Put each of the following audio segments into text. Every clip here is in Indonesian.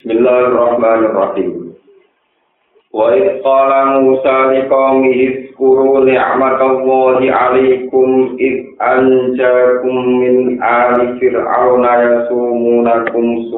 Bismillahirrahmanirrahim. Wa idh qala Musa liqaumihi dzkuru ni'matallahi 'alaikum id anjakum min ali fir'auna yasumunakum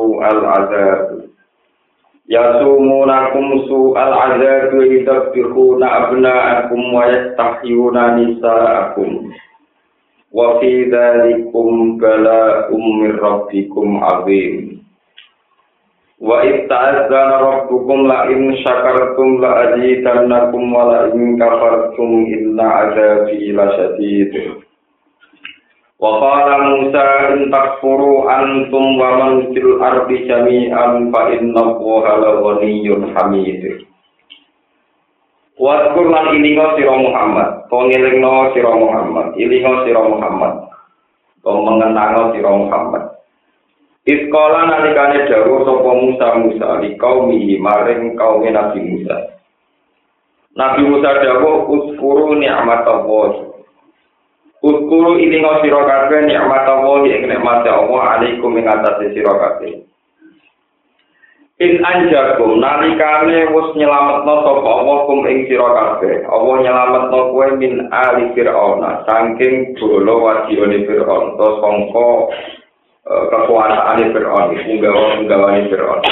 su'al 'adzab yadhbihuna abna'akum wa yastahyuna nisa'akum wa fi dzalikum bala'um min rabbikum 'adzim. Wa itta'adzana rabbukum la in syakartum la azidannakum wa la in kafartum inna adzabi lasyadid. Wa qala Musa in takfuru antum wa man fil ardi jami'an fa innallaha laghaniyyun hamid. Wa qur'an ilinga sira Muhammad, pengelingno sira Muhammad, ilinga sira Muhammad. Mengenang sira Muhammad. Iskola nalikane dawuh sapa Musa li kaumihi maring kaum Nabi Musa. Nabi Musa dawuh uskuru ni'matallah. Uskuru ilinga sira kabeh ni'matallah ing nikmate Allah alaikum ing atase sira kabeh. In anjakum nalikane wis nyelametno sapa Allah kum ing sira kabeh. Allah nyelametno kowe min ali Fir'auna saking bolo wadione Fir'aun to sangka kekuasaan Fir'aun, punggawa-punggawane Fir'aun.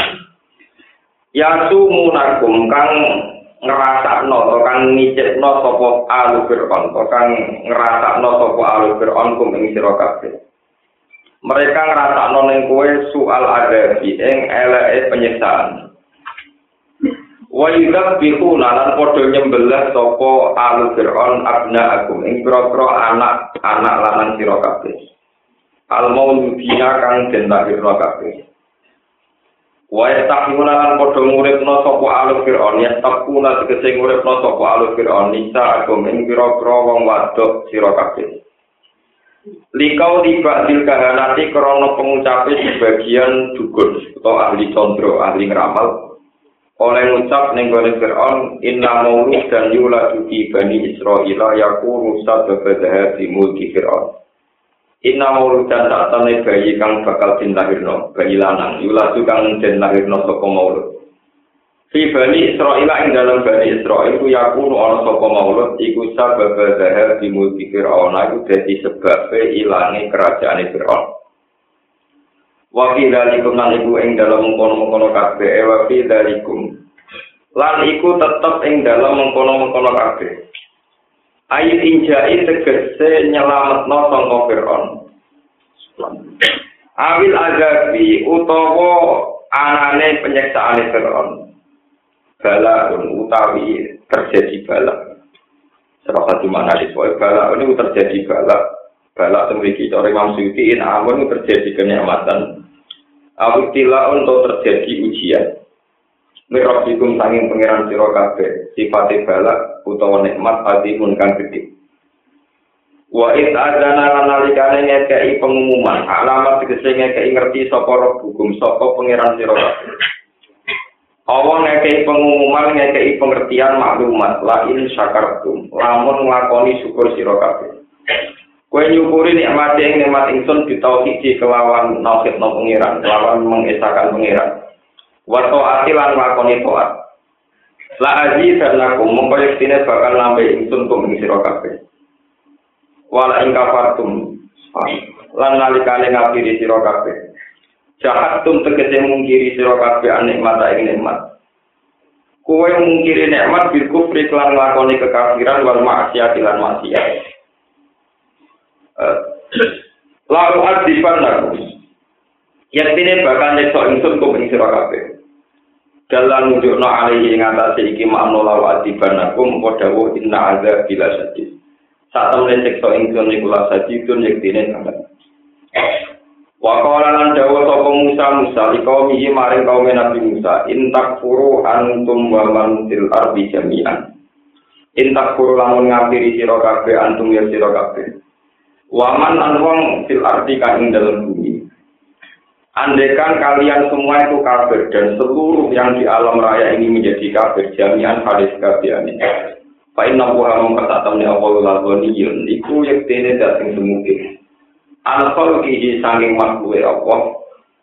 Yasumunakum kang ngrasakno to kang ngicipno sapa alu Fir'aun, to kang ngrasakno sapa alu Fir'aun kum ing sira kabeh. Mereka ngrasakno ning kowe soal adabi ing eleke penyiksaan. Wa yudhbihuna lan padha nyembelih sapa alu Fir'aun abna'akum ing pira-pira anak-anak lanang sira kabeh. Al-mauludina kang den lahirna kabeh. Wa yastahuna lan padha nguripna sapa alu Fir'aun, yastaquna tegese nguripna sapa alu Fir'aun nisa agam ing pira-pira wong wadok sira kabeh. Likau dibadil kahanati krana pengucape sebagian dukun utawa ahli condro, ahli ngeramal oleh ngucap ning gone Fir'aun inna maulud dan yuladu fi bani Israila yakunu sababa di mulki Fir'aun. Inna mauludan satane bayi kang bakal dilahirno, bayi lanang, yuladu kang den lahirno saka maulud. Fi bani Israil ing dalam bani Israil ku yakunu ana saka maulud iku sabab zahar di mulki Fir'aun iku dadi sebabe ilange kerajaane Fir'aun. Wa fi dzalikum lan iku ing dalam mengkono-mengkono kabeh wa fi dzalikum lan iku tetep ing dalam mengkono-mengkono kabeh. Ayat injai tegese nyelametno sangka Fir'aun. Awil azabi utawa anane penyiksaane Fir'aun. Bala utawi terjadi bala. Serasa di mana disebut bala ini terjadi bala. Bala memiliki cara Imam Suyuti amun terjadi kenikmatan. Awil tila untuk terjadi ujian. Mirabikum sanging pangeran sira kabeh sifate balak utawa nikmat adimun kang gedhe. Wa id adzana lan nalikane ngekeki pengumuman alamat tegese ngekeki ngerti sapa hukum sapa pangeran sira kabeh. Allah ngekeki pengumuman ngekeki pengertian maklumat la in syakartum lamun nglakoni syukur sira kabeh. Kowe nyukuri nikmate ing nikmat ingsun ditauhid kelawan nauhidna pangeran kelawan mengesakan pangeran. Wato atilan lakoni toat. La aji dan lakum mengkolektine bakal nambah ingsun kum ing sira kabeh. Wala ing kafartum lan nalikane ngapiri sira kabeh. Jahatum tegese mungkiri sira kabeh nikmat ing nikmat. Kowe mungkiri nikmat bil kufri lan lakoni kekafiran wal maksiat lan maksiat. Lalu adiban lakum. Yaktine bakal nyekso ingsun kum ing sira kabeh. Dalam nunjukno alihi ing atase iki makna lawa adibanakum padha inna azza bila sadis. Sak temene siksa ingsun iku la sadidun yektine sanget. Wa qala lan dawuh sapa Musa liqaumihi maring kaum Nabi Musa in takfuru antum wa man fil ardi jami'an. In takfuru lamun ngapiri sira kabeh antum ya sira kabeh. Wa man an wong fil ardi kang ing dalem bumi. Andaikan kalian semua itu kafir dan seluruh yang di alam raya ini menjadi kafir jami'an hadis kafiane. Fa inna huwa mengkatakan ya Allah al-ghaniyun iku yektene dateng semuge. Al-khalqihi sanging makhluk Allah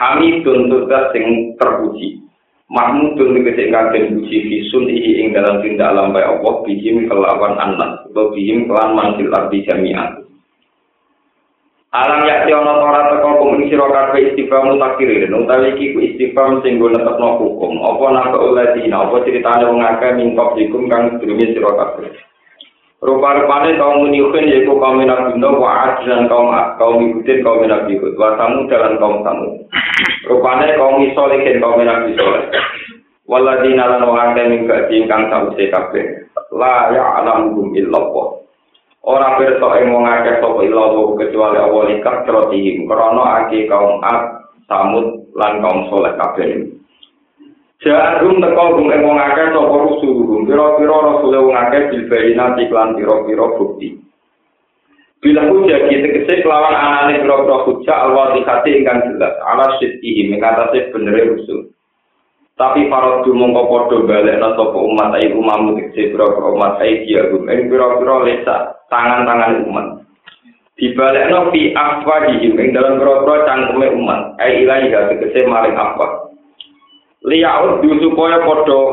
Hamidun tugas sing terpuji. Mahmudun tegese ingkang puji fisun iki ing dalam tindak lambai Allah bihim kelawan anak utawa bihim kelan mansil arti jami'an. Alam yakti ana ora teka kum sira kabeh istighfar mutakirin utawi iki ku istighfar sing nggo netepno hukum apa napa uladina apa critane wong akeh mingkop dikum kang sedurunge sira kabeh. Rupa-rupane kaum muniukin yaitu kaum Nabi wa dan kaum ikutin kaum Nabi Hud wa Samud dan kaum Samud. Rupane kaum Solihin kaum Nabi Soleh. Waladina lan wong akeh mingkak ingkang sawise kabeh. La ya'lamuhum illallah. Ora pirsa ing wong akeh sapa illallah kecuali Allah likat terotihim krana akeh kaum Samud lan kaum Soleh kabeh. Ja'alhum teko gum ing wong akeh sapa rusul pira-pira rasul wong akeh bilbayina iklan pira-pira bukti. Bila hujah tegese kelawan anane pira-pira hujah al-wadihati ingkang jelas ala sidqihi mengatasi benere rusul. Tapi para dumongko padha balekna sapa umat ai umam tegese pira-pira umat ai diagum ing pira-pira lesa tangan-tangan umat. Dibalekno fi afwadihim ing dalam pira-pira cangkeme umat ai ilahi tegese maring afwad. Liyaud supaya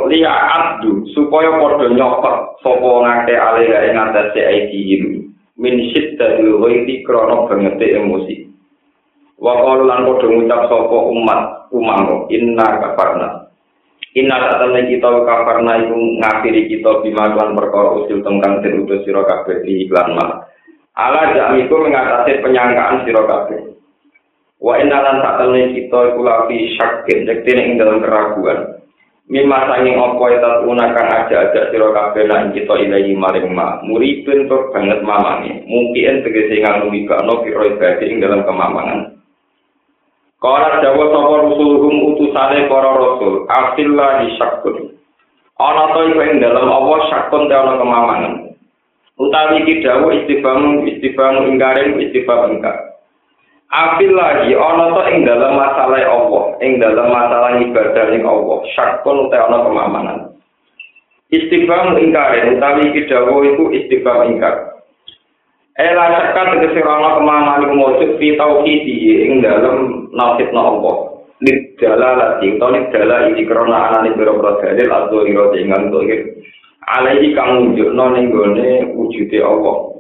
padha nyopot sapa ngake alih ing atase aidihim min syiddatil ghaiti krana bangete emosi. Wa qalu lan padha ngucap sapa umam inna kafarna. Inna satane kita kafarna iku ngakhiri kita bima lan perkara usul tengkang den utus sira kabeh iklan mah. Ala jamiku mengatasi penyangkaan sira kabeh. Wa innalan sakjane kita iku lafi syakin yektene ing dalam keraguan. Mimma sanging apa eta unakan aja-aja sira kabeh lan kita ilahi maring ma. Muripun tur banget mamane. Mungkin tegese nganu wibano pira ibade ing dalam kemamangan. Kala dawa sapa rusuluhum utusane para rasul, afillahi syakun. Ana to iku ing dalam Allah syakun te ana kemamangan. Utawi iki dawuh istifham ingkaren istifham ingkar. Afil lagi ana to ing dalam masalah Allah, ing dalam masalah ibadah ing Allah, syakun utawa ana kemamanan. Istifham ingkar utawi iki dawuh iku istifham ingkar. Ela syakka tegese ana kemamanan iku mujud fi tauhidi ing dalam nasibna Allah. Liddalalati utawa lidalal iki krana anane pira-pira dalil adzhira ingkang dohir. Alaihi kang nunjukno ning gone wujude Allah.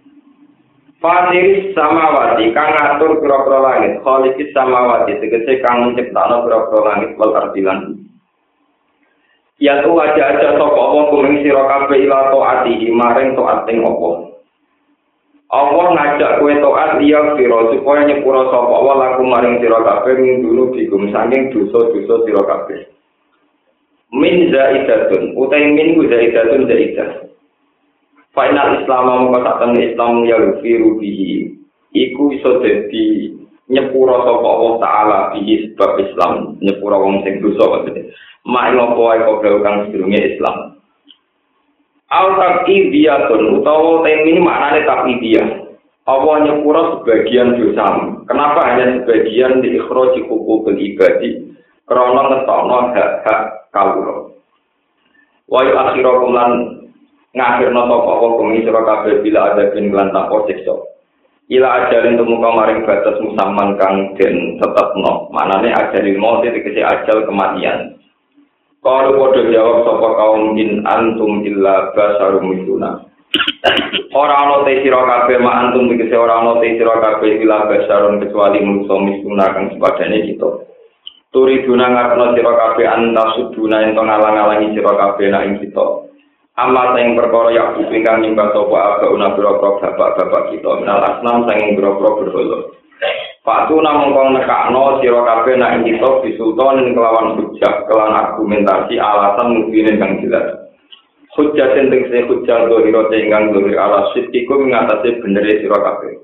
Fatiris samawati kang ngatur pira-pira langit, khaliqis samawati tegese kang menciptakno pira-pira langit wal ardilan. Ya tu aja-aja sapa apa kuming sira kabeh ila taati maring taat ing apa. Allah ngajak kowe taat liya sira supaya nyepura sapa Allah laku maring sira kabeh dulu digum saking dosa-dosa sira kabeh. Min zaidatun utai min zaidatun zaidah. Final Islam mengatakan Islam ya rufiru bihi iku iso dadi nyepura sapa Allah taala bihi sebab Islam nyepura wong sing dosa maksudnya mak ngopo ae kok kang sedurunge Islam al taqidiyatun utawa ini maknane taqidiyah Allah nyepura sebagian dosa kenapa hanya sebagian di ikhraji hukukul ibadi krana ngetokno hak-hak kawula wa akhirakum lan ngakhirna sapa apa kumi sira kabeh bila ada bin lan tanpa siksa ila ajalin tumuka maring batas musamman kang den tetepno manane ajalil maut tegese ajal kematian kalau padha jawab sapa kaum in antum illa basarum mituna ora ana te sira kabeh ma antum tegese ora ana te sira kabeh illa basarun kecuali manusa mituna kang sepadane kita turiduna ngarepno sira kabeh antasuduna ento ngalang-alangi sira kabeh nek kita amal yang perkara yang ingkang nyembah sapa abauna boro-boro bapak-bapak kita minal asnam sanging boro-boro berhala. Fatu namung kang nekakno sira kabeh nek kita bisultan kelawan hujjah kelan argumentasi alasan mungkin kang jelas. Hujjah sing tegese hujjah dohira ingkang dohir ala sitiku ngatasi bener sira kabeh.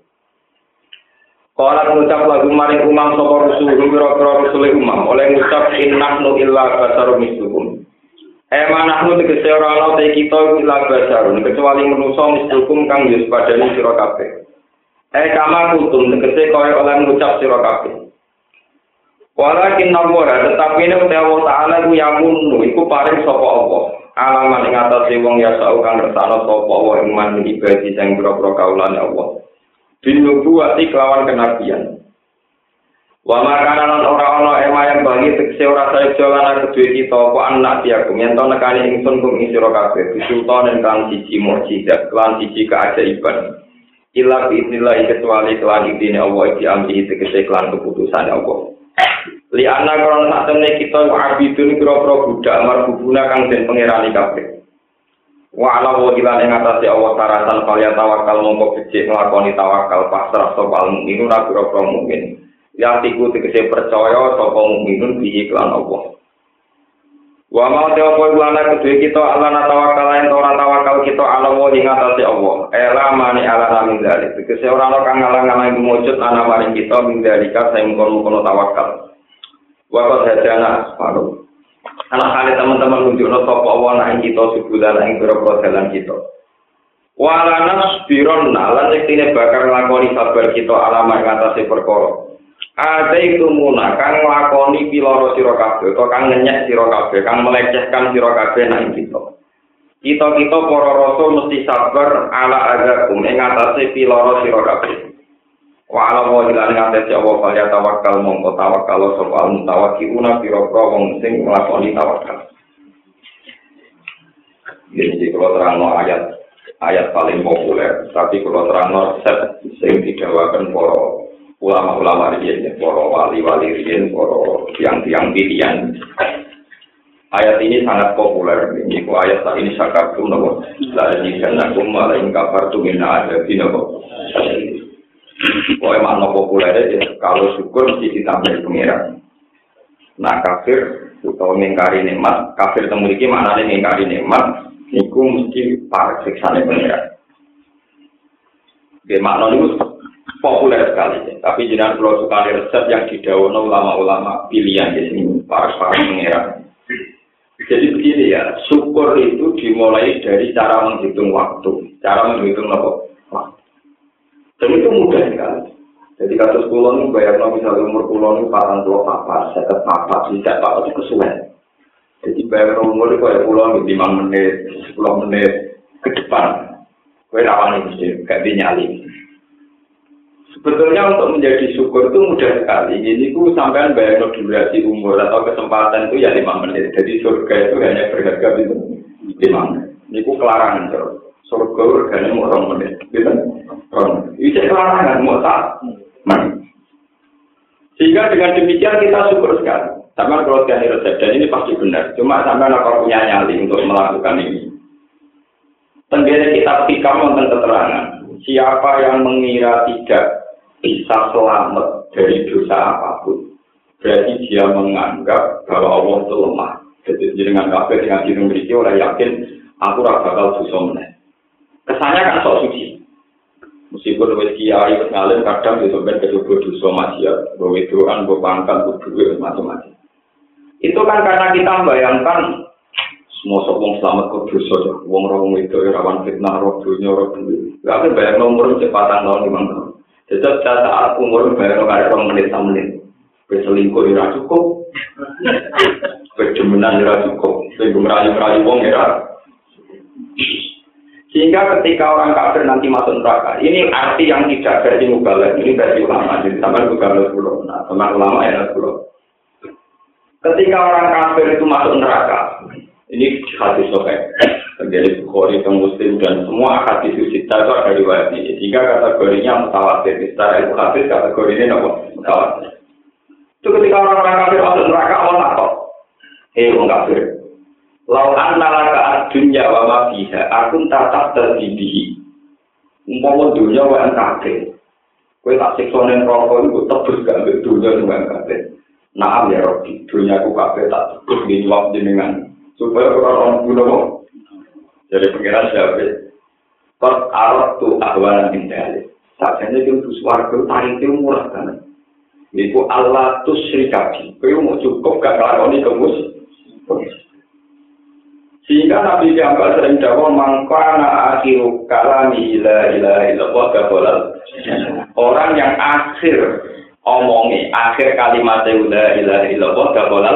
Kala ngucap lagu maring umam sapa rasul boro-boro rasul umam oleh ngucap innahnu illa basarum mislukum. Manahnu tegese ora ana te kita ila basarun kecuali manusa mislukum kang yus padane sira kabeh. Kama kutum tegese kaya oleh ngucap sira kabeh. Walakin namora tetapi nek Allah taala ku yamun iku paring sapa Allah. Alaman ing atase wong ya sau kang ngersakno sapa Allah ing man ibadi sing pira-pira kaulane Allah. Binubuwati kelawan kenabian. Wa makanan ora ana ema yang bagi tekse ora saya jalan kedue kita apa anak diaku yen to nekani ingsun kum ing sira kabeh bisultan kan siji mukjizat lan siji keajaiban illa biidznillah kecuali kelan idine Allah iki amri tegese kelan keputusan Allah li ana krono satene kita abidun kira-kira budak marbubuna kang den pangerani kabeh wa ala wa ila ing atase Allah taratan kaliya tawakal mongko becik nglakoni tawakal pasrah sapa mukmin ora kira-kira mukmin ya tiku tegese percaya sapa mukminun bihi lan Allah. Wa ma ta'ala lana kedue kita alana tawakal yen ora tawakal kita ala wa ing atase Allah. Ela mani ala min dzalik. Tegese ora ana kang ngalang-alang mujud ana maring kita min dzalika sing kono tawakal. Wa qad hadana paru. Anak kali teman-teman nunjukno sapa Allah nang kita subulan ing pira-pira dalan kita. Wa lana bironna lan yektine bakal nglakoni sabar kita alama ing atase perkara. Ada itu muna kang nglakoni piloro sira kabeh utawa kang ngenyek sira kabeh kang melecehkan sira kabeh nang kita. Kita para rasul mesti sabar ala agakum ing atase piloro sira kabeh. Wa ala wa ila atase Allah kaya tawakal mongko tawakal sapa mutawakkiluna pira-pira wong sing nglakoni tawakal. Jadi kalau terangno ayat paling populer, tapi kalau terangno set sing didawaken para ulama-ulama riyen, para wali-wali riyen, para tiang-tiang pilihan. Ayat ini sangat populer. Ini ayat saat ini sakatum nabo. Lagi karena kumala ing kafartu minna ada binobo. Makna populer ya. Kalau syukur mesti ditambah pengiran. Nah kafir utawa mengingkari nikmat, kafir temuriki maknane mengingkari nikmat, niku mesti para siksane pengiran. Oke, makna niku populer sekali, tapi jenengan kalau suka resep yang didhawuhna ulama-ulama pilihan di sini para pengira. Jadi begini ya, syukur itu dimulai dari cara menghitung waktu, cara menghitung waktu. Dan itu mudah sekali. Jadi kasus kulon ini bayangno misalnya umur kulon ini 44, 54, tidak apa itu kesuwen. Jadi bayangno umur itu kayak kulon 5 menit, 10 menit ke depan, kowe rawan mesti gak dinyali. Sebetulnya untuk menjadi syukur itu mudah sekali. Ini ku sampean bayar durasi umur atau kesempatan itu ya 5 menit. Jadi surga itu hanya berharga itu 5 menit. Ini ku kelarangan terus. Surga harganya mau 2 menit. Gitu. Itu kelarangan mau tak. Sehingga dengan demikian kita syukur sekali. Sama kalau sekali resep dan ini pasti benar. Cuma sampean apa punya nyali untuk melakukan ini. Tenggene kita pikir tentang keterangan. Siapa yang mengira tidak bisa selamat dari dosa apapun, berarti dia menganggap bahwa Allah itu lemah. Jadi dengan kafir dengan diri memiliki orang yakin aku ora bakal dosa meneh. Kesannya kan sok suci. Meskipun wis kiai wis ngalim kadang yo sampeyan kecoba dosa maksiat, bahwa doan, bahwa pangkat, bahwa macam-macam. Itu kan karena kita membayangkan semua wong selamat kok dosa ya. Wong itu rawan fitnah, roh dunya, roh duwe. Lah kan bayang umur cepatan tahun 5 tahun. Jadi saat umur bayang kare 2 menit 3 menit. Berselingkuh ora cukup. Berdemenan ora cukup. Sing merayu-merayu wong ora. Sehingga ketika orang kafir nanti masuk neraka, ini arti yang tidak versi mubalagh, ini versi ulama. Jadi sampai mubalagh dulu. Nah, teman ulama ya dulu. Ketika orang kafir itu masuk neraka, ini hadis sahih dari Bukhari dan Muslim dan semua hadis sita itu ada riwayat ini. Sehingga kategorinya mutawatir. Secara ilmu hadis kategorinya apa? Mutawatir. Itu ketika orang-orang kafir masuk neraka, Allah takut. Orang kafir. Lau anna laka ad-dunya wa ma fiha, akun tatap terdidihi. Umpama dunya wa kafir. Kowe tak siksa ning neraka iku tebus gak ambek dunya sing kafir. Naam ya Rabbi, dunya ku kafir tak tebus dijawab jenengan. Supaya orang kuno jadi pengiran siapa? Kot arot tu ahwalan indahnya. Saatnya itu suarga tarik itu murah kan? Itu Allah tu serikati. Kau mau cukup gak ngelakoni kemus? Sehingga Nabi Muhammad sering jawab mangkana akhiru kalami la ilaha illallah gabolal. Orang yang akhir omongi akhir kalimat la ilaha illallah gabolal.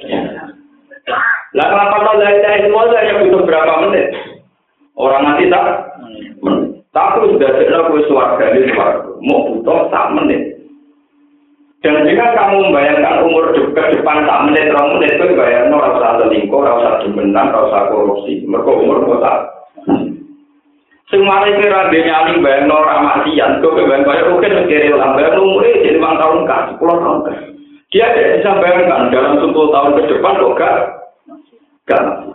Lah kenapa la ilaha illallah yang butuh berapa menit? Orang mati tak? Tapi sudah jelas kowe swarga ini swarga. Mau butuh 1 menit. Dan jika kamu membayangkan umur ke depan tak menit, 2 menit itu bayangkan ora usah selingkuh, ora usah demenan, ora usah korupsi. Mergo umur kota. Sing mari kira nyali bayangno ora matian, kok bayang kaya oke mikire lambat umure jadi 5 tahun kan, 10 tahun kan. Dia tidak bisa bayangkan dalam 10 tahun ke depan kok gak mati.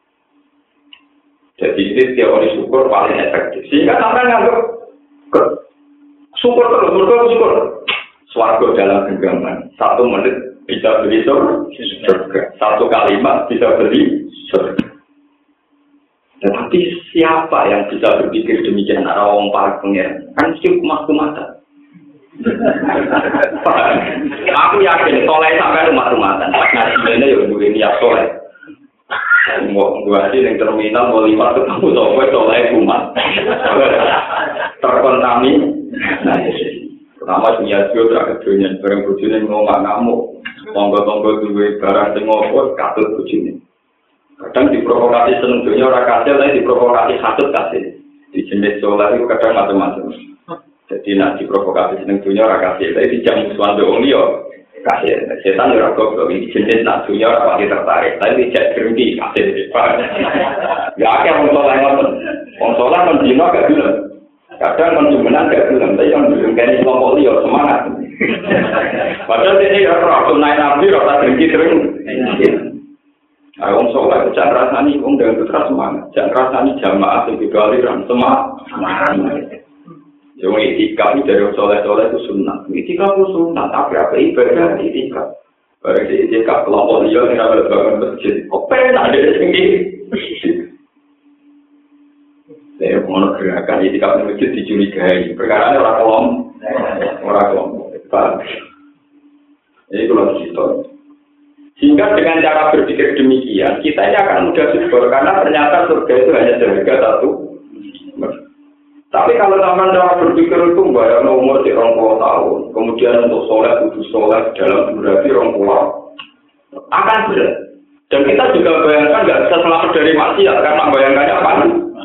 Jadi ini teori syukur paling efektif. Sehingga sampai nganggap syukur terus, syukur. Swarga dalam genggaman. 1 menit bisa beli surga. 1 kalimat bisa beli surga. Tetapi siapa yang bisa berpikir demikian? Ada orang paling pengen. Kan sih kumah-kumatan. Aku yakin soleh sampai rumah-rumatan. Nah, sebenarnya ya dulu niat soleh. Gua sih yang terminal mau 5 ketemu soleh kumat. Terkontaminasi. Pertama punya juga terakhirnya barang bujune ngomong ngamuk. Tonggo-tonggo duwe barang sing ngopo katut bujune. Kadang diprovokasi seneng dunya ora kasil, tapi diprovokasi hasud kasil. Di jenis soleh itu kadang macam-macam. Jadi nak diprovokasi seneng dunya ora kasil, tapi dijam musuhan wong liya kasil. Setan ora goblok iki jenis nak dunya ora pati tertarik, tapi dijak berhenti kasil. Ya akeh wong soleh ngoten. Wong soleh men dino gak gelem. Kadang menjumenan gak gelem, tapi yang belum kene kelompok liya semangat. Padahal ini ya ora naik nabi ora berhenti terus. Wong soleh jangan rasani wong dengan terus semangat. Jangan rasani jamaah sing beda aliran semangat. Yang itikaf dari soleh-soleh itu sunnah. Itikaf itu sunnah, tapi apa ibadah itikaf? Barang itikaf kelompok liya sing ora bangun masjid. Kok penak ada sing saya mau gerakan itikaf di masjid dicurigai. Perkara orang kelompok. Ini kalau cerita. Sehingga dengan cara berpikir demikian, kita ini akan mudah syukur karena ternyata surga itu hanya seharga 1. Tapi kalau sampai cara berpikir itu bayar umur 20 tahun, kemudian untuk sholat kudu sholat dalam durasi 20 akan berat. Dan kita juga bayangkan nggak bisa selamat dari maksiat karena bayangkannya apa?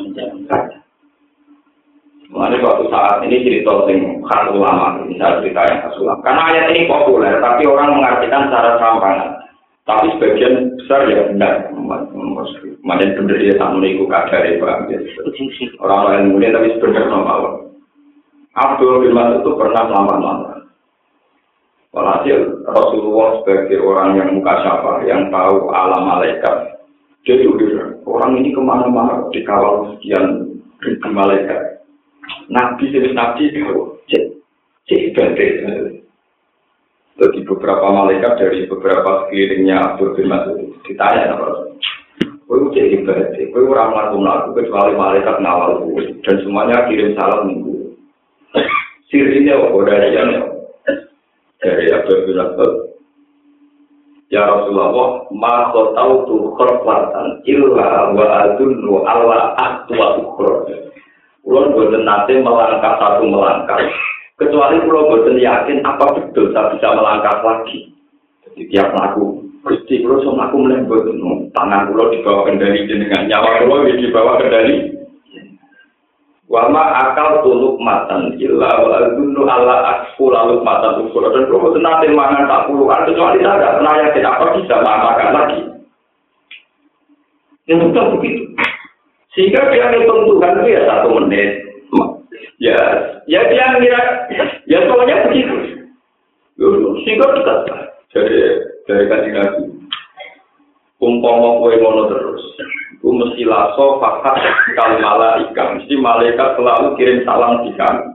Mengenai suatu saat ini cerita sing khas ulama, misal cerita yang khas ulama. Karena ayat ini populer, tapi orang mengartikan secara serampangan. Tapi sebagian besar ya benar, macam benar dia tak meniku kadar ya Pak. Orang lain mulia tapi sebenarnya normal. Abdul bin Mas'ud itu pernah lama-lama. Walhasil Rasulullah sebagai orang yang mukasyafah, yang tahu alam malaikat, dia juga orang ini kemana-mana dikawal sekian ribu malaikat. Nabi tahu, cek bandai. Jadi beberapa malaikat dari beberapa sekelilingnya Abdul bin Mas'ud ditanya apa? Kau cek ibadah, kau orang melakukan kecuali malaikat ngawal gue dan semuanya kirim salam minggu. Sirinya kodariannya dari Abdul bin Mas'ud. Ya Rasulullah, ma tahu tu khorfatan illa wa adunnu ala aqwa ukhra. Kulo boten nate melangkah satu melangkah. Kecuali kalau boten yakin apa betul saya bisa melangkah lagi. Jadi tiap laku, Gusti kulo sok aku mleh boten tangan kulo dibawa kendali jenengan, nyawa kulo dibawa kendali. Wa ma akal tuluk matan illa wa adunnu ala asful lalu matan ukur. Dan kulo boten nate mangan tak puluhan kecuali saya tidak pernah yakin apa bisa makan lagi. Yang betul begitu. Sehingga dia hitung Tuhan itu ya 1 menit. Ya dia ngira, ya soalnya begitu. Sehingga dekat dari kaji Nabi. Umpama kowe ngono terus, ku mesti laso fakat kal malaika, mesti malaikat selalu kirim salam di kami.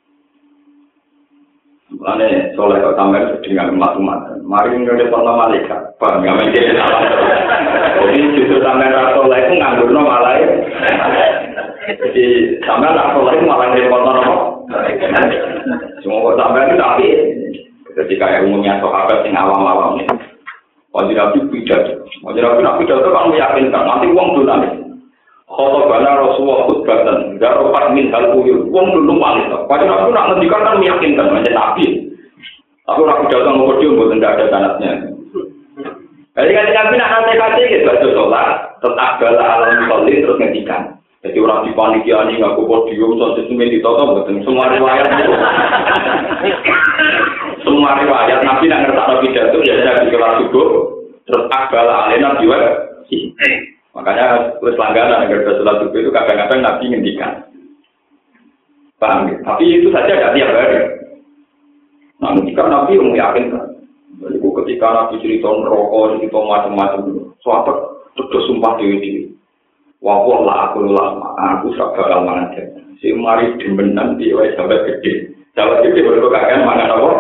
Mane soleh kok sampeyan dengan umat-umat. Mari ngrepotno malaikat, Pak, ngamen kirim salam. Jadi justru sampeyan ra soleh ku nganggurno malaikat. Jadi sampeyan ra soleh malah ngrepotno apa? Semua sampeyan itu tapi ketika yang umumnya sahabat yang awam-awam ini wajib Nabi pidato. Wajib Nabi pidato kan meyakinkan nanti uang dulu nanti. Khotbana Rasulullah khutbatan garopat min halquyul. Uang dulu paling. Wajib Nabi nak ngendikan kan meyakinkan macam Nabi. Tapi orang pidato ngomong dia buat tidak ada sanadnya. Jadi kan Nabi nak nanti gitu baca sholat tetap bala alam sholat terus ngendikan. Jadi orang di panitia ini ngaku podium, soal sistemnya ditoto, betul. Semua riwayat itu. semua riwayat Nabi nak ngertakno pidato ya Nabi sholat subuh terus akbala alena jiwa. Makanya wis langganan agar sholat subuh itu kadang-kadang Nabi ngendikan. Paham ya? Tapi itu saja tidak tiap hari. Nah, ketika Nabi meyakinkan, ketika Nabi cerita neraka, cerita macam-macam, sahabat terus sumpah dewi-dewi. Wah, aku bakal mangan dia. Si mari demenan di wae sampai gede. Sampai gede baru kakek mangan apa?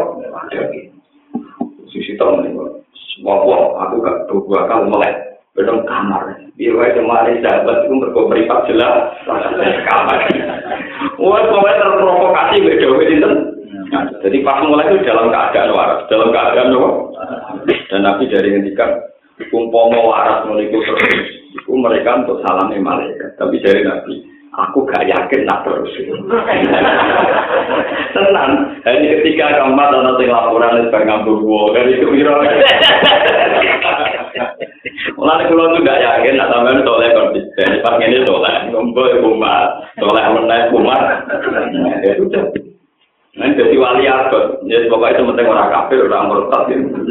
Sisi tahun ini. Wah, aku gak bakal melek. Bedong kamar. Di wae mari sahabat itu berkomperipat jelas. Kamar. Wah, sampai terprovokasi beda itu. Jadi pas mulai itu dalam keadaan waras, dalam keadaan apa? Dan Nabi dari ngendikan, umpama waras menikah terus, itu mereka untuk salami malaikat. Tapi dari Nabi, aku gak yakin nak terus. Tenang, hanya ketika keempat ada laporan dari ngambung dari itu biro. Mulai kalau tu gak yakin, nak sampai soleh konsisten. Pas ini soleh, ngumpul kumat, soleh menai kumat. Itu jadi. Nah, jadi wali abad, ya pokoknya itu penting orang kafir, orang murtad.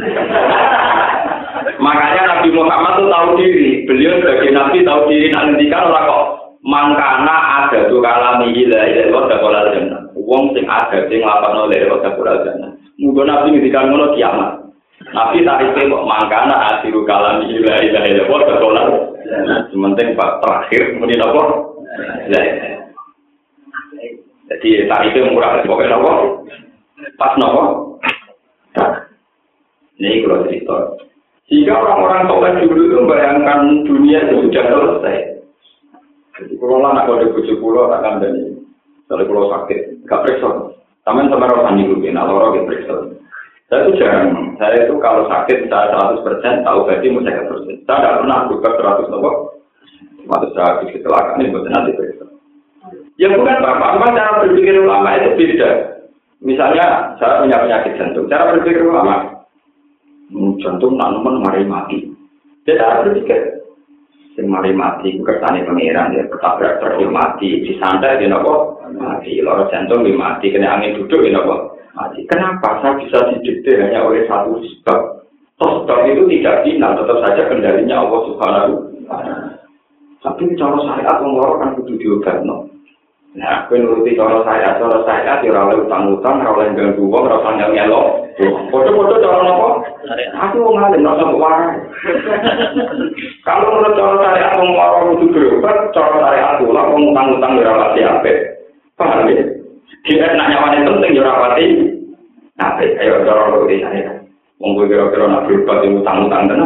Makanya Nabi Muhammad itu tahu diri, beliau sebagai Nabi tahu diri, nantikan orang kok mangkana ada tuh kalami ilah roda kolal jannah. Wong sing ada sing lapan oleh roda kolal jannah. Mungkin Nabi ngendikan ngono kiamat. Nabi tarifnya kok mangkana asiru kalami ilah roda kolal. Sementing pak terakhir muni apa? Jadi tarifnya murah, pokoknya nopo, pas nopo. Ini kalau cerita. Jika orang-orang soleh dulu itu membayangkan dunia itu sudah selesai. Jadi kalau anak kode bujuk pulau tak akan jadi. Kalau pulau sakit, gak periksa. Taman sama orang dulu, nah orang periksa. Saya itu jarang. Saya itu kalau sakit saya 100% tahu berarti mau saya 100%. Saya tidak pernah buka 100 nopo. Waktu saya kecelakaan ini buat nanti periksa. Ya bukan Bapak, cuma cara berpikir ulama itu beda. Misalnya, saya punya penyakit jantung. Cara berpikir ulama, jantung tanaman mari mati. Dia cara berpikir, mari mati, kersane pangeran, dia ketabrak terus mati, disantai dia nopo mati, loro jantung dia mati, kena angin duduk dia nopo mati. Kenapa saya bisa didikte hanya oleh satu sebab? Sebab itu tidak final, tetap saja kendalinya Allah Subhanahu wa Ta'ala. Tapi cara syariat orang kan kudu diobatno. Nah, aku nuruti cara saya tidak oleh utang-utang, tidak oleh ganggu uang, tidak oleh nyelok. Foto-foto cara apa? Aku mau ngalih, tidak usah kewarai. Kalau menurut cara saya, aku mau itu berobat, cara saya aku lah, aku utang-utang tidak rapati apa. Paham ya? Kita nak nyawain penting, tidak rapati apa. Ayo, cara nuruti saya. Mungkin kira-kira nak berobat, utang-utang tenang.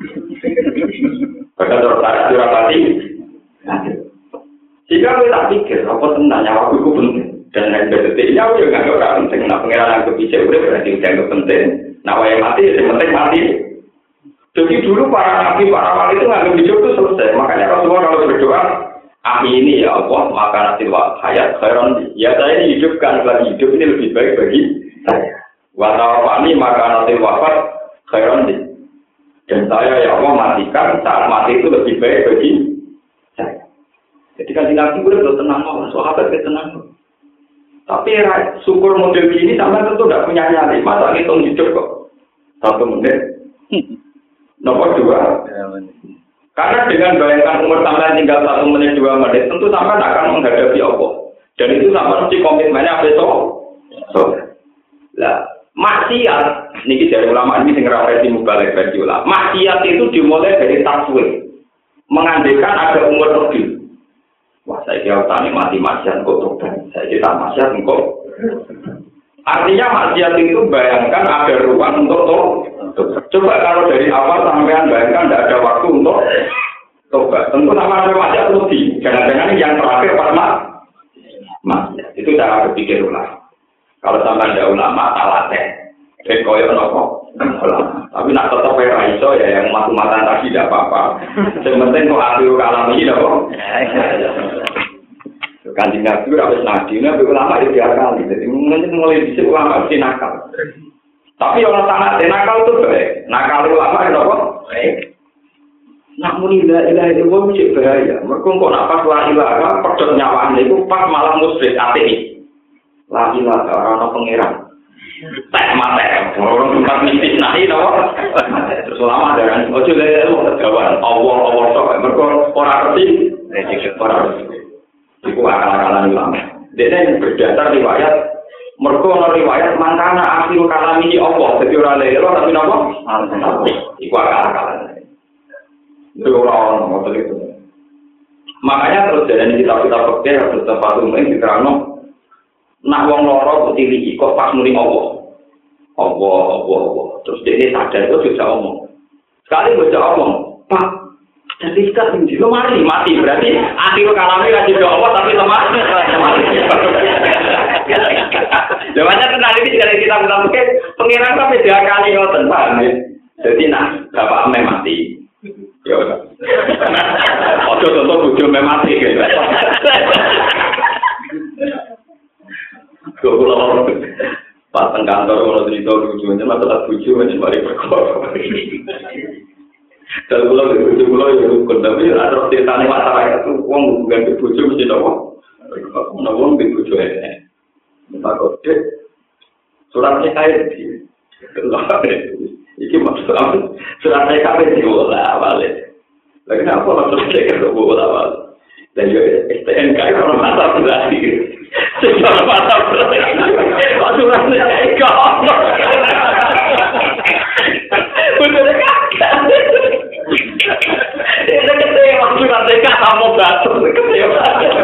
Bahkan cara saya tidak rapati apa. Jika kita tak pikir, apa tentang nyawa itu penting. Dan yang berdetiknya, aku juga nggak penting. Nah, pengiran yang kepisah, udah berarti yang penting. Nah, yang mati, yang penting mati. Jadi dulu para nabi, para wali itu nggak hidup itu selesai. Makanya Rasulullah kalau berdoa, ini ya Allah, maka nanti hayat, khairan. Ya saya ini hidupkan, lagi hidup ini lebih baik bagi saya. Watawafani, maka nanti wafat, khairan. Dan saya ya Allah matikan, saat mati itu lebih baik bagi saya. Jadi kan Nabi udah tenang, sahabat tenang. Tapi syukur model ini sampai tentu tidak punya nyali. Masa ngitung hidup kok 1 menit. Nomor 2. Karena dengan bayangkan umur sampai tinggal 1 menit 2 menit, tentu sampai akan menghadapi Allah. Dan itu sampai mesti komitmennya besok. Lah, maksiat niki dari ulama ini sing referensi mubalek bagi ulama. Maksiat itu dimulai dari taswir. Mengandaikan ada umur lebih. Wah, saya kira tani mati maksiat kok tobat. Saya kira maksiat kok. Artinya maksiat itu bayangkan ada ruang untuk tobat. Coba kalau dari awal sampean bayangkan tidak ada waktu untuk tobat. Tentu sama ada maksiat lebih. Jangan-jangan yang terakhir pas maksiat. Itu cara berpikir ulama. Kalau sampai ada ulama talateh. Koyo nopo. Tapi nak tetap iso ya yang matu-matan tadi tidak apa-apa. Yang penting kok akhir kalam ini nopo. Kanjeng Nabi harus Nabi ulama itu kali. Jadi mulai dhisik ulama mesti nakal. Tapi orang sangat nakal itu baik. Nakal ulama itu apa? Baik. Namun la ilaha illallah mesti bahaya. Mergo kok nak pas la ilaha pedhot nyawaan itu pas malah musyrik ateis. La ilaha ora ana pangeran. Tak mate, orang tempat mistis nahi no. Terus lama ada kan, ojo lele lu kegawan, Allah sok, mereka orang ngerti, orang ngerti. Iku akal-akalan ulama. Dia berdasar riwayat, mereka ono riwayat mangkana akhir kalami Allah, jadi orang lele tapi nopo, iku akal-akalan. Itu orang ngotot itu. Makanya terus jadi kitab-kitab fikih harus tempat umum diterangno. Nak wong loro kok tiliki kok pas muni Allah. Terus dia sadar itu bisa omong. Sekali baca omong, Pak, jadi kita tinggi lemari mati berarti akhir kalamnya kasih doa Allah tapi lemah. Jawabannya kenal ini jika kita fikih pengiran sampai 2 kali ngoten paham ya. Jadi nah bapak ame mati. Ya udah. Ojo contoh bojo ame mati gitu. Kalau pas kantor kalau cerita lucunya masalah buju macam mari perkara. Kalau buju ya rukun tapi ada ceritanya masyarakat itu uang bukan buju mesti tahu. Uang buju ini. Takut suratnya air di. Iki maksud suratnya kafe di bola awalnya. Lagi apa maksudnya ke bola awal? Dan juga STNK kalau masa berarti. Secara mata berarti. Suratnya kau. Bener kan? Ini kecewa suratnya kamu batu kecewa.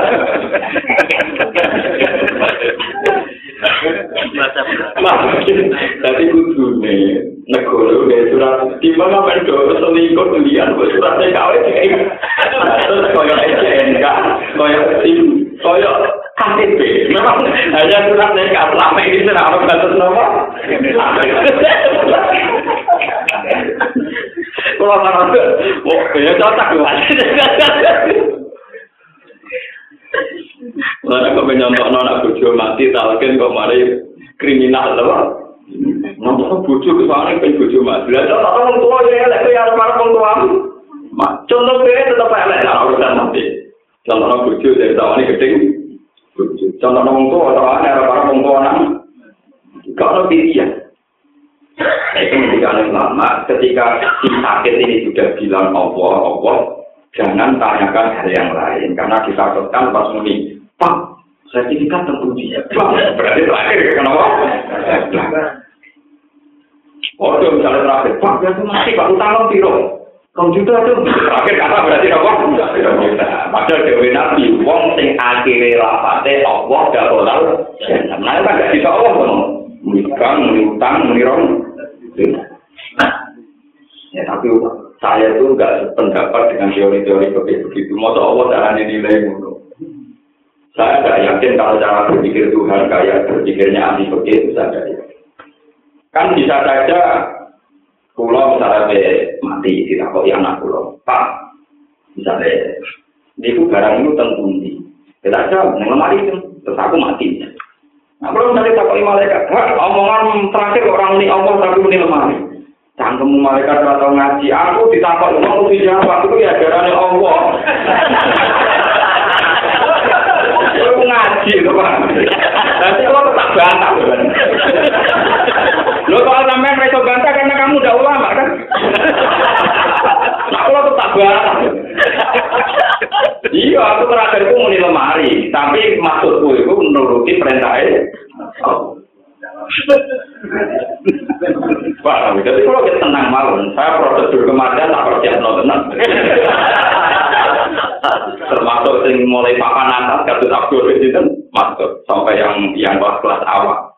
Tapi kudu nih negara udah surat di mana pendok selingkuh dilihat suratnya kau ini. Terus koyo SNK, koyo SIM, koyo KTP. Memang hanya surat nikah selama ini tidak ada batas nomor. Kalau orang ya cocok lah. Mana kau menyontok anak bojo mati, talken kau mari kriminal lah. Nampak bojo kesannya pengen bojo mati. Lihat orang tua ya, lek ya orang tua. Contoh dia tetap elek lah urusan mati. Contoh bojo dari tawane gedeng. Contoh orang tua tawane orang tua nang. Kalau pilihan. Itu menjadi lama ketika si sakit ini sudah bilang Allah, jangan tanyakan hal yang lain karena ditakutkan pas muni, Pak, sertifikat teruji. Berarti terakhir kenapa? Oh, misalnya terakhir, Pak, dia tuh masih Pak utang piro. Kau juga tuh terakhir kata berarti apa? Padahal dewe nabi, wong sing akhire lafate Allah dak olal. Nah, kan gak bisa Allah ngono. Mikang, utang, menirong. Ya tapi saya tuh nggak sependapat dengan teori-teori begitu. Masa Allah caranya nilai ngono. Saya nggak yakin kalau cara berpikir Tuhan kayak berpikirnya ahli begitu saja. Kan bisa saja pulau misalnya mati tidak kok yang anak pulau. Pak, misalnya itu barang itu tentundi. Kita aja lemari itu terus aku mati. Nah, kalau misalnya takut malaikat, omongan terakhir orang ini Allah tapi ini lemari. Cangkemmu malaikat atau ngaji, aku ditakut ngomong mesti jawab itu ya darahnya Allah. Aku ngaji itu Pak. Nanti Allah tetap bantah kan. Lo kalau sampai mereka bantah karena kamu udah ulama kan. Nah Allah tetap bantah. Iya, aku terakhir itu muni lemari, tapi maksudku itu menuruti perintahnya. Pak, jadi kalau kita tenang mawon, saya prosedur kematian tak percaya tenang. Termasuk yang mulai papan atas, kasus Abdul itu masuk sampai yang kelas awal.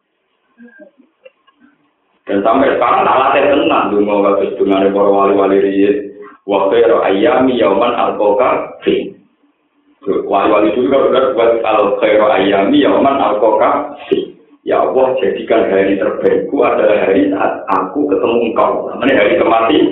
Dan sampai sekarang alatnya tenang, dungo kasus dengan para wali-wali riyad, waktu ayami yauman al-qoka fi. Wali-wali dulu kan udah buat al-khairu ayami yauman al-qoka fi. Ya Allah, jadikan hari terbaikku adalah hari saat aku ketemu engkau. Namanya hari kematian.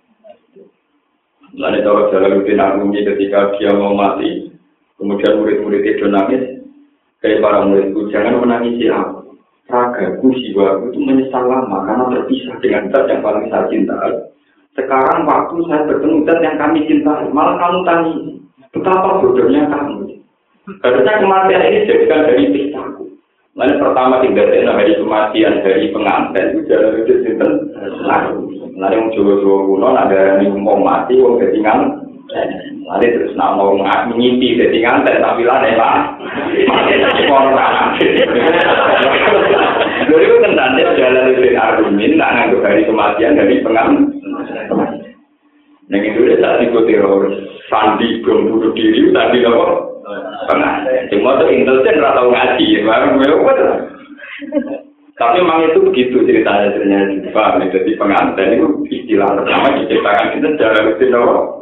Lalu cara Jalaluddin Arumi ketika dia mau mati, kemudian murid-murid itu nangis, kayak para muridku, jangan menangisi aku. Ragaku, jiwaku itu menyesal lama karena terpisah dengan zat yang paling saya cintai. Sekarang waktu saya bertemu zat yang kami cintai, malah kamu tanya, betapa bodohnya kamu. Harusnya kematian ini jadikan dari pisahku. Lalu pertama tinggal hari kematian dari pengantin itu jalan itu sinten. Lalu yang Jawa-Jawa kuno ada yang mau mati wong dadi ngan. Lalu terus nak mau ngimpi dadi nganten tapi lah nek Pak. Ono tanah. Lha itu kan jalan itu argumen nak nganggo hari kematian dari pengantin. Yang itu saat itu teroris sandi bom bunuh diri tadi apa? Pengantin. Cuma tuh intelijen nggak tahu ngaji, tapi memang itu begitu ceritanya juga. Jadi pengantin itu istilah pertama diciptakan itu secara rutin.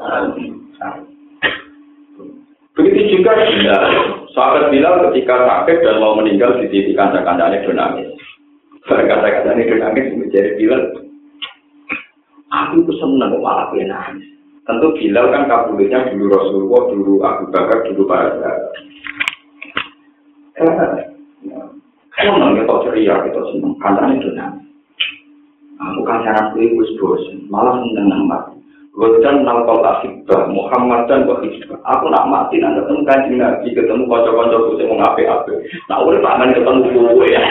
Begitu juga Bilal. Sahabat Bilal ketika sakit dan mau meninggal di titik kancah-kancahnya nangis. Kancah-kancahnya nangis menjadi Bilal. Aku tuh senang malah nangis. Tentu Bilal kan kabulnya dulu Rasulullah, dulu Abu Bakar, dulu para sahabat. Senang kita ceria, kita senang. Kancahnya nangis. Aku kancaran gue bosan, malah senang nambah. Godan nalkol asibah, Muhammad dan Wahidbah. Aku nak mati, nak ketemu kancing Nabi, ketemu kocok-kocok gue mau ngape-ape. Nah, udah tangan ketemu gue ya.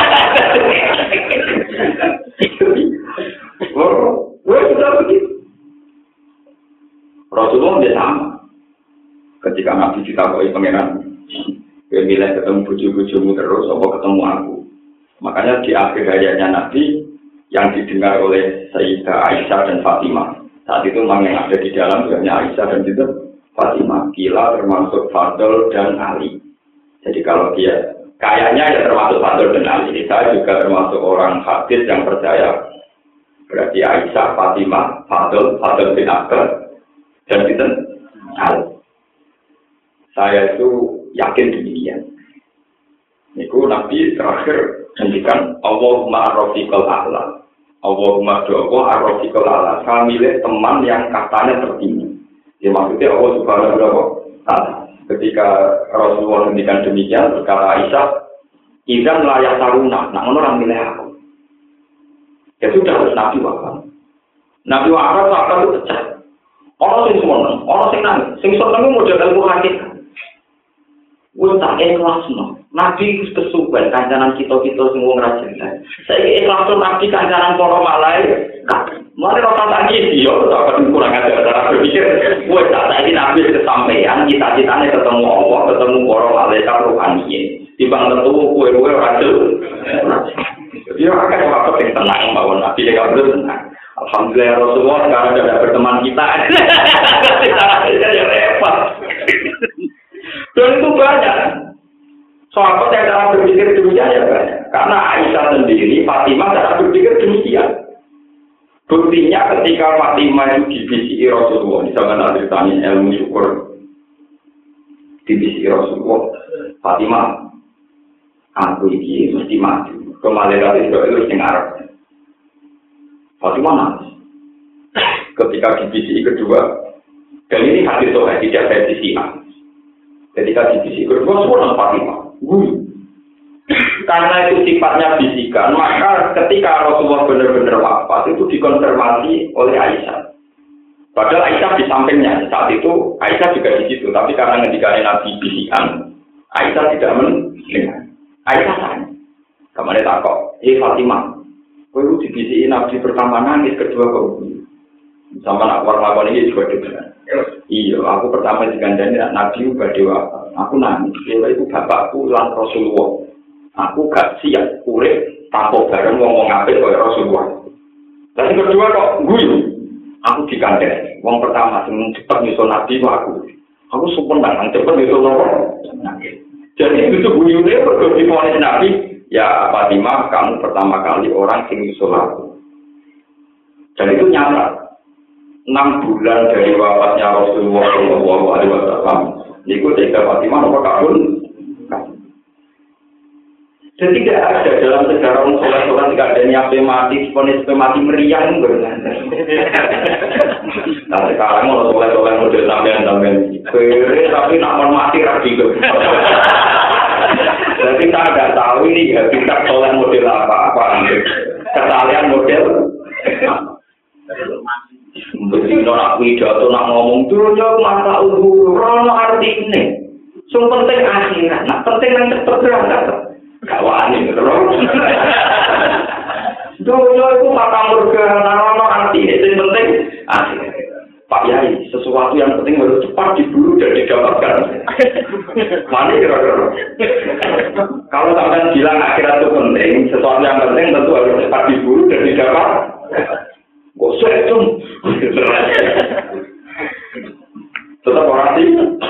Gue sudah begitu. Rasulullah dia sama. Ketika Nabi ditakoi pangeran, gue milih ketemu buju-bujumu terus, apa ketemu aku. Makanya di akhir hayatnya Nabi, yang didengar oleh Sayyidah Aisyah dan Fatimah. Saat itu memang yang ada di dalam hanya Aisyah dan juga Fatimah. Kila termasuk Fadl dan Ali. Jadi kalau dia kayaknya ya termasuk Fadl dan Ali. Saya juga termasuk orang hadis yang percaya. Berarti Aisyah, Fatimah, Fadl bin Abbas. Dan itu saya itu yakin demikian. Niku Nabi terakhir menghentikan Allahumma ar-rafiqal a'la. Allahumma doa ar-rafiqal a'la. Saya milih teman yang katanya tertinggi. Ya maksudnya Allah subhanahu wa ta'ala. Ketika Rasulullah menghentikan demikian, berkata Aisyah, "Idzan layak taruna." Nah, orang milih aku. Ya sudah harus Nabi wafat. Nabi wafat itu pecah. Orang sing seneng, orang sing nangis, sing seneng model ilmu hakikat. Wis tak ikhlasno. Nabi wis kesuwen kancanan kita-kita sing wong ra jelas. Saiki ikhlasno Nabi kancanan para malaikat. Mari ora tak iki yo tak kurang ada cara berpikir. Wis tak saiki Nabi kesampaian cita-citane ketemu Allah, ketemu para malaikat rohani. Timbang ketemu kowe ora jelas. Dia akan waktu yang tenang bahwa Nabi dia tenang. Alhamdulillah Rasulullah sekarang sudah berteman kita. Kita repot. Dan itu banyak. Sahabat yang cara berpikir demikian ya banyak. Karena Aisyah sendiri, Fatimah cara berpikir demikian. Buktinya ketika Fatimah itu dibisiki Rasulullah, di zaman ceritanya ilmu syukur dibisiki Rasulullah, Fatimah, aku ini mesti mati. Kembali dari itu yang Arab. Fatimah nangis. Ketika divisi kedua, dan ini hadis soal tidak versi A. Ketika divisi kedua, semua Fatimah. Karena itu sifatnya bisikan, maka ketika Rasulullah benar-benar wafat itu dikonfirmasi oleh Aisyah. Padahal Aisyah di sampingnya saat itu Aisyah juga di situ, tapi karena ketika Nabi bisikan, Aisyah tidak mendengar. Aisyah tanya, kemana takut? Fatimah. Kau itu dibisikin Nabi pertama nangis, kedua kau sama nak warna ini juga juga. Iya, aku pertama digandani Nabi juga dewa. Aku nangis, itu bapakku lan Rasulullah. Aku gak siap urip tanpa bareng ngomong apik kaya Rasulullah. Dan kedua kok guyu. Aku digandani. Wong pertama sing cepet nyusul Nabi aku. Aku sumpah nang cepet nyusul Nabi. Jadi itu guyune perlu diponis Nabi. Ya Fatimah, kamu pertama kali orang sing nyusul aku. Dan itu nyata. 6 bulan dari wafatnya Rasulullah SAW. Niku Sayyidah Fatimah nomor kabul. Jadi tidak ada dalam sejarah sholat-sholat tidak ada nyampe mati, ponis mati meriang benar. Nah sekarang mau sholat-sholat model sampean-sampean. Tapi nak mati rapi itu. Jadi saya tidak tahu ini ya kita sholat model apa. Kesalahan model. Begitu nak pidato nak ngomong dulu jauh masa rono arti ini. Yang penting akhirat, nak penting yang cepat berangkat. Kawan terus. Doyo itu mata murga narono arti itu yang penting. Pak Yai, sesuatu yang penting harus cepat diburu dan didapatkan. Mana kira-kira? Kalau sampai bilang akhirat itu penting, sesuatu yang penting tentu harus cepat diburu dan didapat. Gosok itu. Tetap orang sih.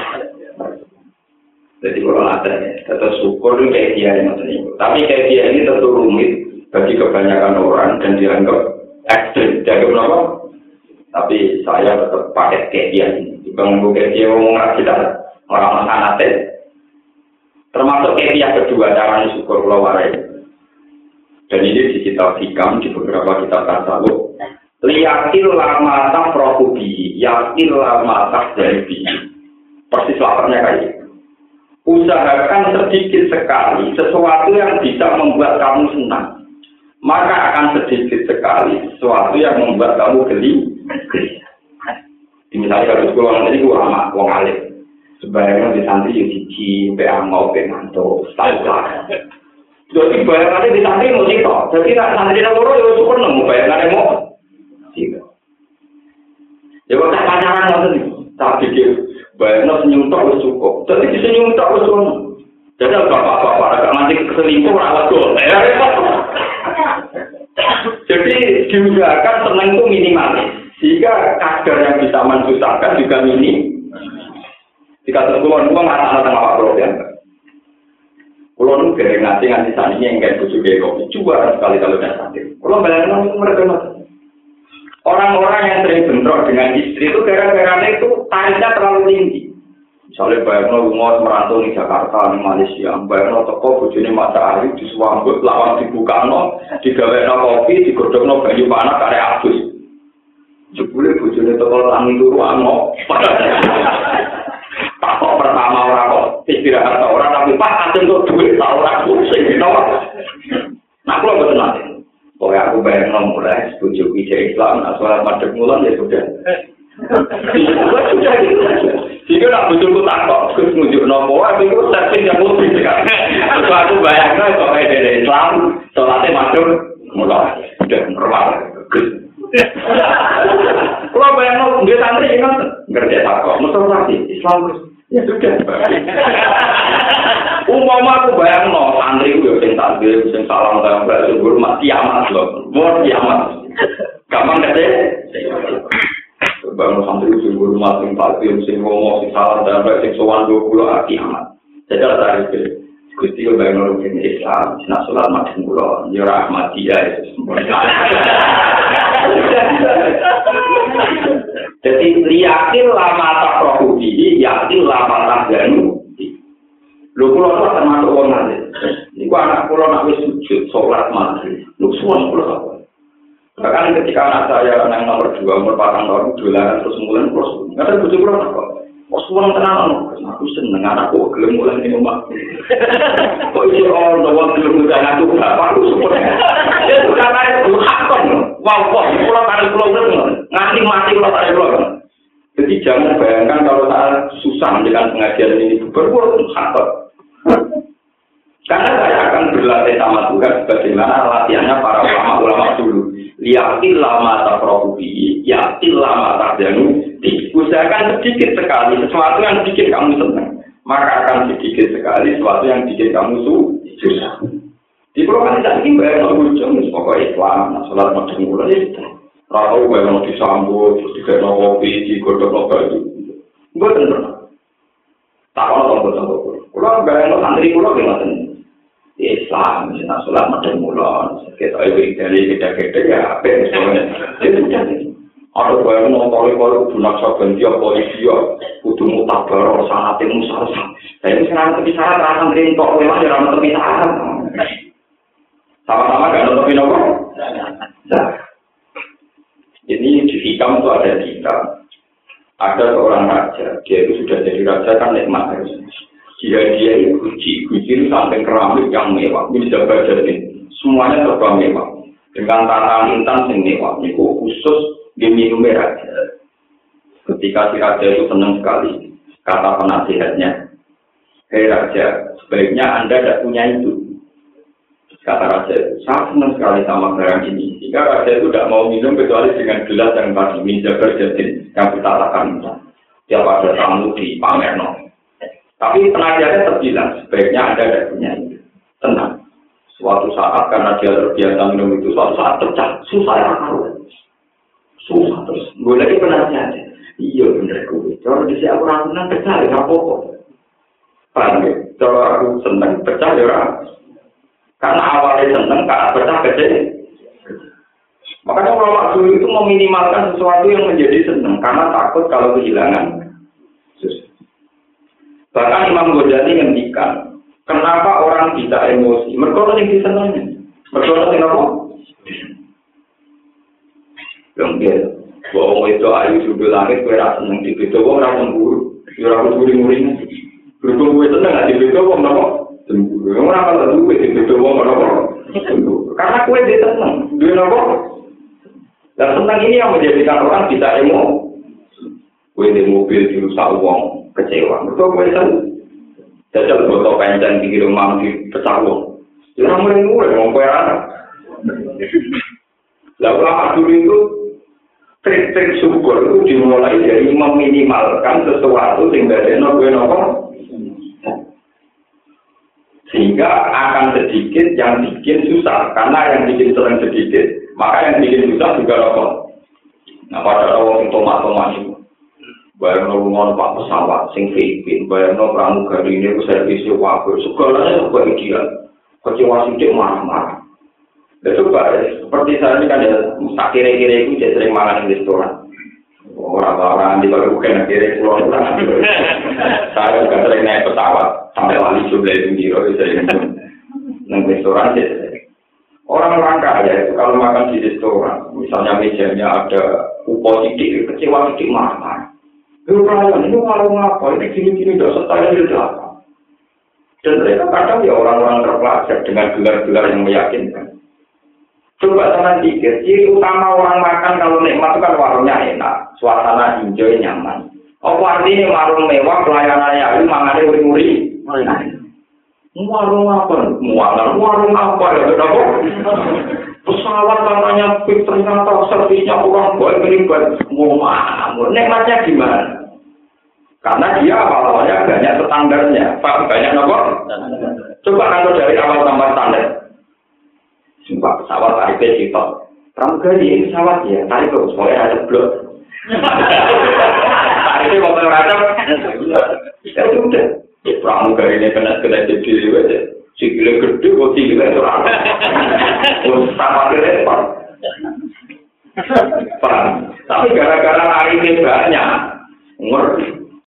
Jadi kalau ada, tetap syukur itu kayak dia yang ini. Tapi kayak dia ini tentu rumit bagi kebanyakan orang dan dianggap ekstrim. Dianggap apa? Tapi saya tetap pakai kayak dia ini. Dibanggu kayak dia ngomong kita orang sangat. Termasuk kayak dia kedua caranya syukur pulau warai. Dan ini di kitab hikam di beberapa kitab tasawuf. Liyakil lama tafrohubi, yakil lama tafdaribi. Persis laparnya kayak gitu. Usahakan sedikit sekali sesuatu yang bisa membuat kamu senang. Maka akan sedikit sekali sesuatu yang membuat kamu geli. Misalnya kalau sekolah nanti gue sama wong alim. Sebaliknya di santri yang siji, mau pengantuk, setahun. Jadi bayangannya di santri mau sitok. Jadi nak santri nak loro ya syukur nemu bayangannya mau. Sitok. Ya kok tak pacaran nanti, tak pikir bayangnya senyum tak wis cukup. Jadi disenyum tak wis cukup. Jadi bapak-bapak agak nanti keselingkuh rawat gol. Jadi diusahakan senang itu minimalis. Sehingga kadar yang bisa mensusahkan juga minim. Jika terkulon itu nggak tengah Pak Bro ya. Kulon itu dari ngasih saninya yang kayak bujuk kopi. Coba sekali kalau udah sakit. Kulon bayangin mereka orang-orang yang sering bentrok dengan istri itu gara-gara itu tarifnya terlalu tinggi. Misalnya bayangin rumah merantau di Jakarta, di Malaysia. Bayangin toko bujuni mata hari di Suambut, lawan dibuka digawe kopi, digodok banyu panas karek abus. Jebule bojone teko tangi turu ano. Pak kok pertama ora kok istirahat ora tapi Pak aten kok duit ta ora pusing to. Nah kula boten nate. Pokoke aku bayangno mulai bojoku Islam asal madhep mulan ya sudah. Jika nak bojoku takok terus nunjukno apa iku servis yang mesti kan. Terus aku bayangno kok dari Islam salate madhep mulan. Sudah normal. Kalau bayang dia santri ingat ngerti apa? Mesti lagi Islam ya sudah. Umpama aku bayang santri gue yang takbir, yang salam dalam bahasa hormat kiamat loh, mau kiamat. Gampang deh. Bayang santri yang hormat, yang takbir, yang ngomong, yang salam dalam bahasa sowan 20 kiamat. Jadi ada tarif. Gusti yo bayang orang Islam, nak sholat madhep kula, yo Ahmadiyah itu semua. Jadi yakin lama tak rohudi, yakin lama tak janu. Lho kula kok termasuk wong alim. Niku anak kula nak wis sujud sholat maghrib. Lho suwun kula apa? Bahkan ketika anak saya yang nomor 2 umur 4 tahun dolanan terus mulai terus. Ngaten bojo kula kok. Suwun tenan aku seneng anakku gelem mulai ning omah. Kok iso ono wong gelem mulai aku bapakku support. Ya sudah kaya hakon. Wow, kula karo kula nganti mati kula karo. Jadi jangan bayangkan kalau saat susah dengan pengajian ini berbuat hakon. Karena saya akan berlatih sama Tuhan sebagaimana latihannya para ulama-ulama dulu. Liyatil lama tafrohubi, yatil lama tafjanu. Usahakan sedikit sekali sesuatu yang bikin kamu senang, maka akan sedikit sekali sesuatu yang bikin kamu susah. Di program ini bayar ujung, pokoknya Islam, sholat macam mulai itu. Ratau bayar disambut, terus digawe kopi, digodok baju. Gue tentu. Tak kalau tombol. Kalau bayar santri pulau gimana? Islam, misalnya sholat macam mulai. Kita dari kita ya, apa misalnya? Itu jadi. Ada bayar nonton bunak saban dia polisi ya, kudu mutabar sanate musal. Saya sekarang tepi saran rasang rintok lewat ya ramah tepi saran. Sama-sama gak nonton apa? Nah, ini di hikam itu ada kita. Ada seorang raja, dia itu sudah jadi raja kan nikmat harus. Dia itu guci sampai keramik yang mewah, bisa baca ini. Semuanya serba mewah. Dengan tata intan yang mewah, itu khusus diminum raja. Ketika si raja itu senang sekali, kata penasihatnya, hei raja, sebaiknya Anda tidak punya itu. Kata raja itu, saya senang sekali sama barang ini. Jika raja itu tidak mau minum kecuali dengan gelas yang tadi minjabar jadin yang ditatakan. Tiap ada tamu di pamerno. Tapi penasihatnya terbilang sebaiknya Anda tidak punya itu. Tenang. Suatu saat karena dia terbiasa minum itu, suatu saat pecah. Susah ya kalau. Susah terus. Gue lagi penasihatnya. Iya bener gue. Kalau di sini aku ragunan pecah ya apa-apa. Paham ya? Kalau aku senang pecah ya. Karena awalnya senang, karena pecah kecil. Makanya ulama dulu itu meminimalkan sesuatu yang menjadi senang, karena takut kalau kehilangan. Bahkan Imam Ghazali ngendikan, kenapa orang bisa emosi? Mereka yang disenangi. Mereka yang apa? Lembir. Bahwa itu ayu sudut langit, gue rasa senang di situ, gue rasa cemburu. Gue rasa cemburu-muring. Berhubung gue senang, di situ gue kenapa? Cemburu. Orang kalau duit di situ gue kenapa? Cemburu. Karena gue dia senang. Dia kenapa? Dan senang ini yang menjadikan orang bisa emosi. Gue di mobil dirusak uang, kecewa. Betul gue senang. Jajal botol penceng di rumah di pecah uang. Jangan mulai-mulai, mau kue anak. Lalu ulama dulu itu trik-trik syukur itu dimulai dari meminimalkan sesuatu sehingga dia nopo sehingga akan sedikit yang bikin susah karena yang bikin sering sedikit maka yang bikin susah juga nopo. Nah pada orang yang tomat itu bayar nolungan pak pesawat sing Filipin bayar nol pramugari ini servisnya wakil segalanya juga ideal kecewa sedikit marah-marah. Coba seperti saya ini kan ya kira-kira itu jadi sering makan di restoran. Orang-orang di bawah bukan kira pulau saya juga sering naik pesawat sampai wali jumlah itu biro sering naik restoran jadi orang-orang kaya itu kalau makan di restoran misalnya mejanya ada upo sidik kecewa sidik marah-marah. Ini warung apa ini gini-gini tidak setara itu apa? Dan mereka kadang ya orang-orang terpelajar dengan gelar-gelar yang meyakinkan. Coba teman pikir, ciri utama orang makan kalau nikmat itu kan warungnya enak, suasana hijau nyaman. Apa artinya warung mewah, pelayanannya itu mangannya uri-uri? Warung apa? Warung apa ya? Pesawat katanya ternyata servisnya kurang baik, ini baik. Nikmatnya gimana? Karena dia awal-awalnya banyak standarnya, banyak apa? Coba kalau dari awal tambah standar. Sumpah pesawat tarifnya sifat pramugari ini pesawat ya tarik terus mulai ada blok tarifnya mau beracam ya sudah pramugari ini kena jadi aja sikile gede kok sikile itu rata sama repot tapi gara-gara tarifnya banyak ngerti